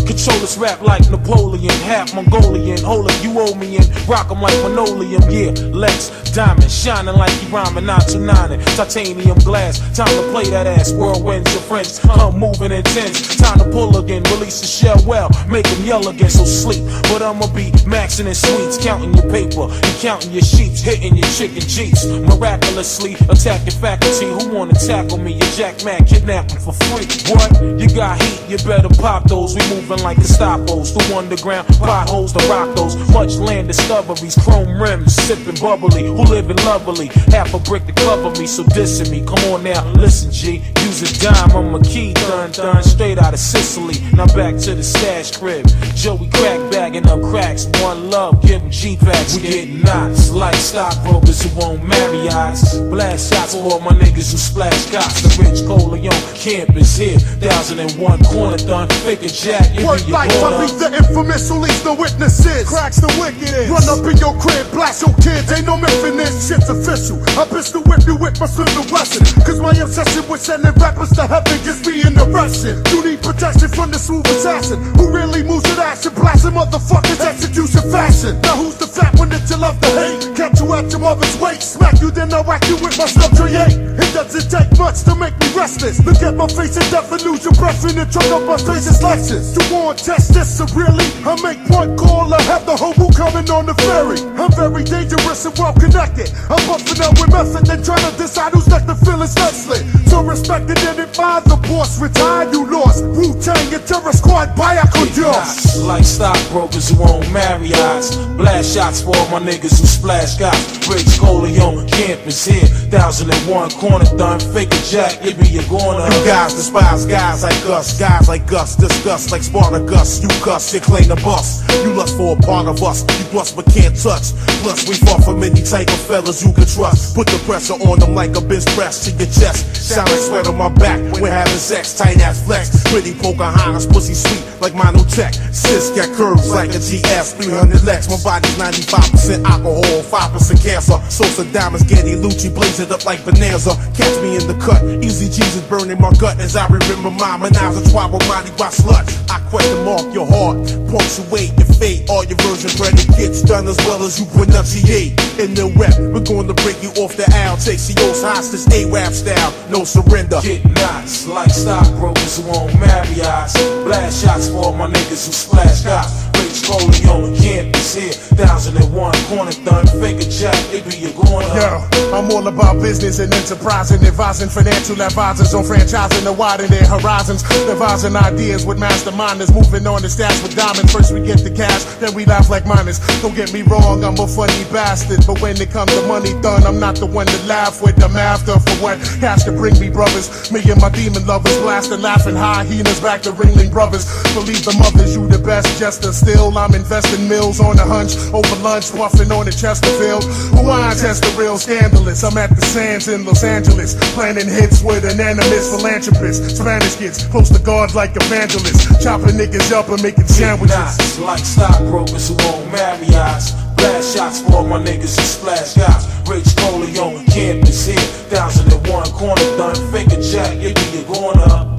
Control this rap like Napoleon, half Mongolian. Hold it, you owe me and rock 'em like linoleum. Yeah, Lex, diamond, shining like he rhyming 929. Titanium glass, time to play that ass. Whirlwinds, your friends come moving intense. Time to pull again, release the shell well, make them yell again, so sleep. But I'ma be maxing in sweets, counting your paper, and counting your sheets, hitting your chicken jeeps. Miraculously attacking faculty, who wanna tackle me? Your Jack Man, kidnapping for free. What? You got heat, you better pop those. We moving like Gestapos, through underground potholes to rock those. Much land discoveries, chrome rims, sipping bubbly. Who living lovely? Half a brick to cover me, so dissing me. Come on now, listen G, use a dime, I'm a key, done, straight out of Sicily. Now back to the stash crib. Joey crack bagging up cracks, one love, give them G-packs. We getting knots like stockbrokers who won't marry eyes. Blast shots for all my niggas who splash cops. The Rich Corleone campus here, 1001 corner done, figure jack. Word life, I be the infamous who leaves no witnesses. Cracks the wickedest. Run up in your crib, blast your kids, ain't no missing this. Shit's official. I pistol whip you with my Smith & Wesson. Cause my obsession with sending rappers to heaven gets me in the Russian. You need protection from the smooth assassin who really moves with action, blasting motherfuckers execution fashion. Now who's the fat one that you love to hate? Catch you at your mother's weight, smack you then I whack you with my stuff create. It doesn't take much to make me restless. Look at my face and death and lose your breath in the trunk of my face is Lexus. You want test this severely? I make one call, I have the hobo coming on the ferry. I'm very dangerous and well connected. I'm buffing up with method then trying to decide who's next to feel is Leslie. So respected and admired, the boss retired, you lost. Wu-Tang and Terror Squad, vaya con Dios. Like stockbrokers who won't marry eyes. Blast shots for all my niggas who splash guys. Rich Corleone campus here, 1001 corner done, fake a jack, it be your corner. You guys despise guys like us, disgust like Spartacus. You cuss, you claim the bus. You lust for a part of us, you bust but can't touch. Plus we far from any type of fellas you can trust. Put the pressure on them like a bench press to your chest. Sound like sweat on my back when having sex, tight ass flex. Pretty Pocahontas, pussy sweet like Monotech. Sis got curves like a GS 300 Lex. My body's 95% alcohol, 5% cancer. Sosa diamonds, Getty Lucci, blaze it up like Bonanza. Catch me in the cut, easy Jesus burning my gut as I remember my menage a trois with Monty by slut. I question mark your heart, punctuate your fate. All your version predicates done as well as you pronunciate. In the rep, we're going to break you off the owl. Take CO's hostage, A-rap style, no surrender. Get knots like stockbrokers who won't marry eyes. Blast shots for all my niggas who splash guys. Rich Corleone campus here, 1001 corner done, fake a jack, it be your corner. Yo, I'm all about business and enterprising, advising financial advisors on franchising to widen their horizons, devising ideas with masterminders, moving on the stash with diamonds. First we get the cash, then we laugh like miners. Don't get me wrong, I'm a funny bastard, but when it comes to money done, I'm not the one to laugh with. I'm after for what cash can bring me, brothers. Me and my demon lovers, blasting, laughing, hyenas back to Ringling Brothers. Believe the mothers, you the best jester. Still, I'm investing mills on a hunch, over lunch, puffing on the Chesterfield. Wine test the real scandalous. I'm at the Sands in Los Angeles, planning hits with anonymous philanthropists. Spanish kids, close to God like evangelists, chopping niggas up and making sandwiches. Knots like stockbrokers who won't marry eyes. Blast shots for all my niggas who splash guys. Rich Corleone campus here, 1001 corner done, fake a jack, it be your corner.